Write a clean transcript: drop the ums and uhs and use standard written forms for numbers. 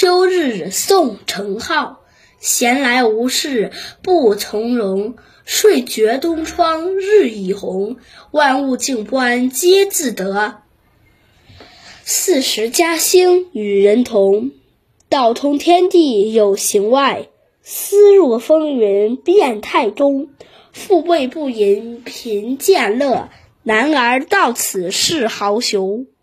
秋日送程浩，闲来无事不从容。睡觉东窗日已红，万物静观皆自得。40嘉兴与人同，道通天地有形外。思入风云变态中，富贵不淫贫贱乐。男儿到此是豪雄。